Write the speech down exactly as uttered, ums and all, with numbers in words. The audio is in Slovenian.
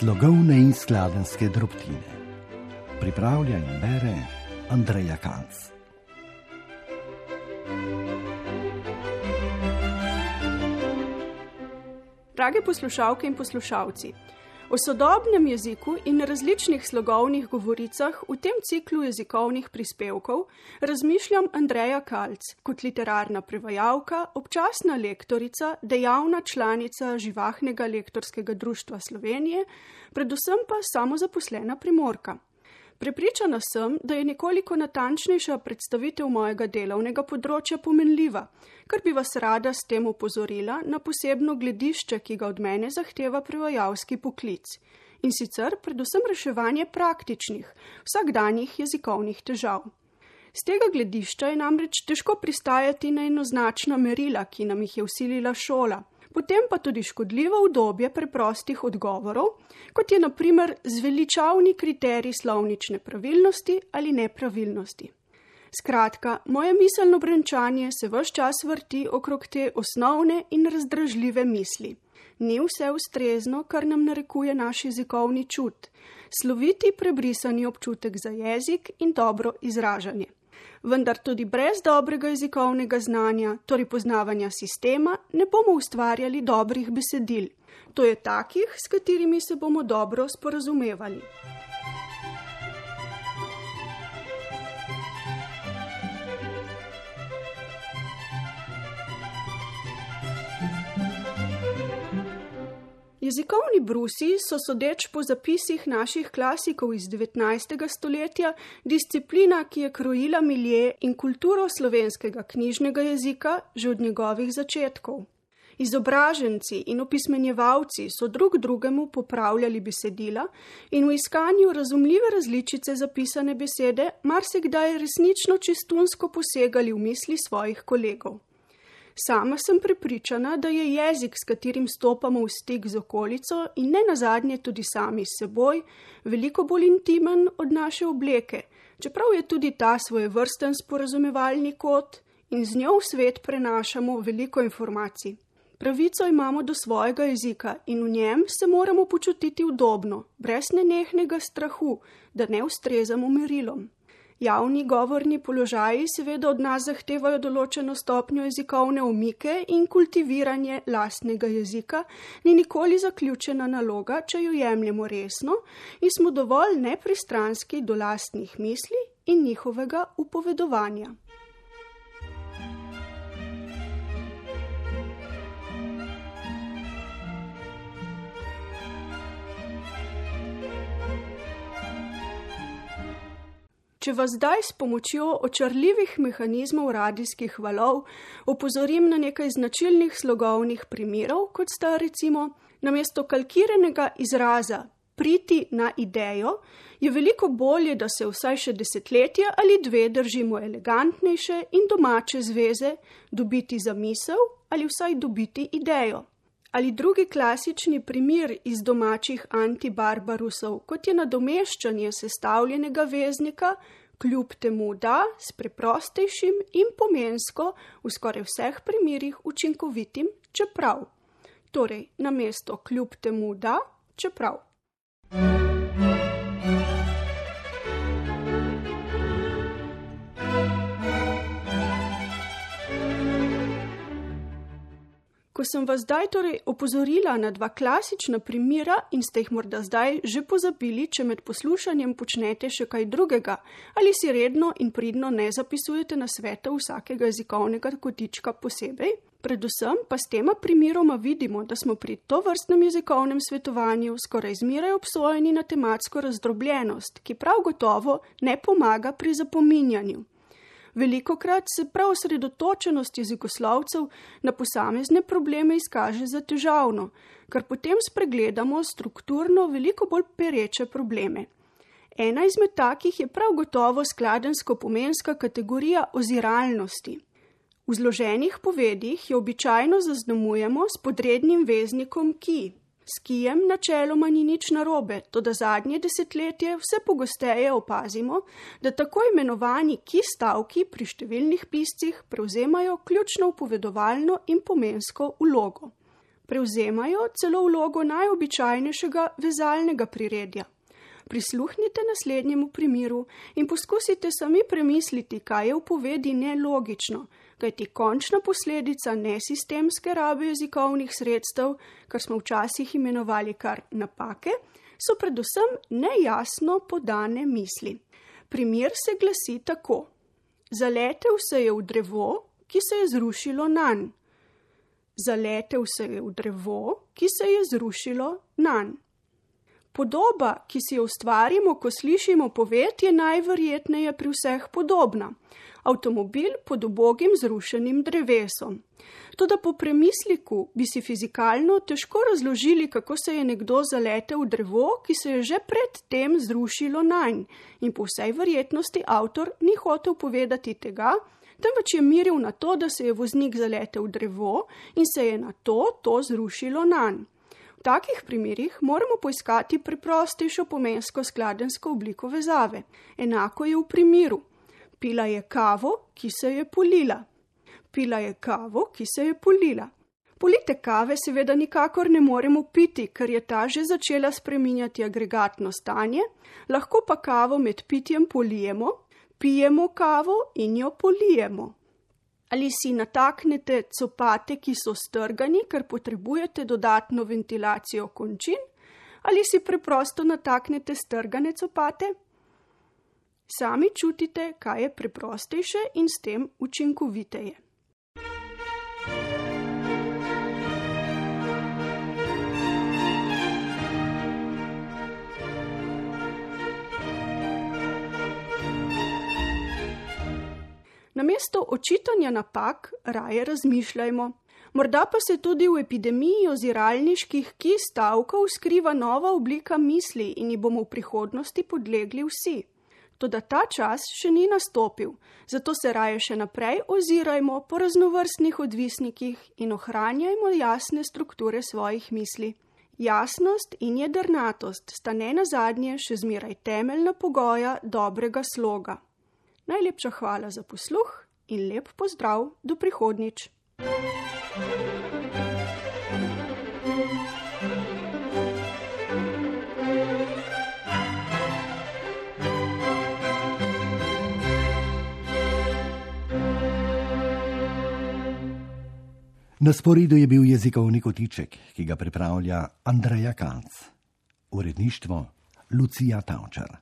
Slogovne in skladenjske drobtine. Pripravlja in bere Andreja Kanc. Drage poslušalke in poslušalci, o sodobnem jeziku in različnih slogovnih govoricah v tem ciklu jezikovnih prispevkov razmišljam Andreja Kanc kot literarna prevajalka, občasna lektorica, dejavna članica Živahnega lektorskega društva Slovenije, predvsem pa samozaposlena Primorka. Prepričana sem, da je nekoliko natančnejša predstavitev mojega delovnega področja pomenljiva, kar bi vas rada s tem opozorila na posebno gledišče, ki ga od mene zahteva prevajalski poklic, in sicer predvsem reševanje praktičnih, vsakdanjih jezikovnih težav. Z tega gledišča je namreč težko pristajati na enoznačna merila, ki nam jih je vsilila šola, potem pa tudi škodljivo udobje preprostih odgovorov, kot je na primer zveličavni kriterij slovnične pravilnosti ali nepravilnosti. Skratka, moje miselno brenčanje se ves čas vrti okrog te osnovne in razdražljive misli. Ni vse ustrezno, kar nam narekuje naš jezikovni čut, sloviti prebrisani občutek za jezik in dobro izražanje. Vendar tudi brez dobrega jezikovnega znanja, torej poznavanja sistema, ne bomo ustvarjali dobrih besedil. To je takih, s katerimi se bomo dobro sporazumevali. Jezikovni brusi so, sodeč po zapisih naših klasikov iz devetnajstega stoletja, disciplina, ki je krojila milje in kulturo slovenskega knjižnega jezika že od njegovih začetkov. Izobraženci in opismenjevalci so drug drugemu popravljali besedila in v iskanju razumljive različice zapisane besede marsikdaj resnično čistunsko posegali v misli svojih kolegov. Sama sem prepričana, da je jezik, s katerim stopamo v stik z okolico in ne nazadnje tudi sami s seboj, veliko bolj intimen od naše obleke, čeprav je tudi ta svojevrsten sporazumevalni kod in z njo v svet prenašamo veliko informacij. Pravico imamo do svojega jezika in v njem se moramo počutiti udobno, brez nenehnega strahu, da ne ustrezamo merilom. Javni govorni položaji seveda od nas zahtevajo določeno stopnjo jezikovne omike in kultiviranje lastnega jezika ni nikoli zaključena naloga, če jo jemljemo resno in smo dovolj nepristranski do lastnih misli in njihovega upovedovanja. Če vas zdaj s pomočjo očarljivih mehanizmov radijskih valov opozorim na nekaj značilnih slogovnih primerov, kot sta recimo namesto kalkiranega izraza priti na idejo, je veliko bolje, da se vsaj še desetletje ali dve držimo elegantnejše in domače zveze dobiti zamisel ali vsaj dobiti idejo. Ali drugi klasični primer iz domačih antibarbarusov, kot je nadomeščanje sestavljenega veznika, kljub temu da, s preprostejšim in pomensko v skoraj vseh primerih učinkovitim čeprav. Torej, namesto kljub temu da, čeprav. Ko sem vas zdaj torej opozorila na dva klasična primera in ste jih morda zdaj že pozabili, če med poslušanjem počnete še kaj drugega ali si redno in pridno ne zapisujete nasvetov vsakega jezikovnega kotička posebej, predvsem pa s tema primeroma vidimo, da smo pri tovrstnem jezikovnem svetovanju skoraj zmeraj obsojeni na tematsko razdrobljenost, ki prav gotovo ne pomaga pri zapominjanju. Velikokrat se prav osredotočenost jezikoslovcev na posamezne probleme izkaže za težavno, kar potem spregledamo strukturno veliko bolj pereče probleme. Ena izmed takih je prav gotovo skladenjsko-pomenska kategorija oziralnosti. V zloženih povedih jo običajno zaznamujemo s podrednim veznikom ki. S kijem načeloma ni nič narobe, toda zadnje desetletje vse pogosteje opazimo, da tako imenovani ki stavki pri številnih piscih prevzemajo ključno upovedovalno in pomensko vlogo. Prevzemajo celo vlogo najobičajnejšega vezalnega priredja. Prisluhnite naslednjemu primeru in poskusite sami premisliti, kaj je v povedi nelogično, kajti končna posledica nesistemske rabe jezikovnih sredstev, kar smo včasih imenovali kar napake, so predvsem nejasno podane misli. Primer se glasi tako: zaletel se je v drevo, ki se je zrušilo nanj. Zaletel se je v drevo, ki se je zrušilo nanj. Podoba, ki si jo ustvarimo, ko slišimo poved, je najverjetneje pri vseh podobna. Avtomobil pod ubogim zrušenim drevesom. Toda po premisliku bi si fizikalno težko razložili, kako se je nekdo zaletel v drevo, ki se je že pred tem zrušilo nanj, in po vsej verjetnosti avtor ni hotel povedati tega, temveč je miril na to, da se je voznik zaletel v drevo in se je na to to zrušilo nanj. V takih primerih moramo poiskati preprostejšo pomensko skladensko obliko vezave. Enako je v primeru: pila je kavo, ki se je polila. Pila je kavo, ki se je polila. Polite kave seveda nikakor ne moremo piti, ker je ta že začela spreminjati agregatno stanje, lahko pa kavo med pitjem polijemo, pijemo kavo in jo polijemo. Ali si nataknete copate, ki so strgani, ker potrebujete dodatno ventilacijo končin, ali si preprosto nataknete strgane copate? Sami čutite, kaj je preprostejše in s tem učinkoviteje. Namesto očitanja napak raje razmišljajmo. Morda pa se tudi v epidemiji oziralniških kij stavkov skriva nova oblika misli in ji bomo v prihodnosti podlegli vsi. Toda ta čas še ni nastopil, zato se raje še naprej ozirajmo po raznovrstnih odvisnikih in ohranjajmo jasne strukture svojih misli. Jasnost in jedrnatost sta ne nazadnje še zmeraj temeljna pogoja dobrega sloga. Najlepša hvala za posluh in lep pozdrav do prihodnjič. Na sporedu je bil jezikovni kotiček, ki ga pripravlja Andreja Kalc. Uredništvo Lucija Tavčar.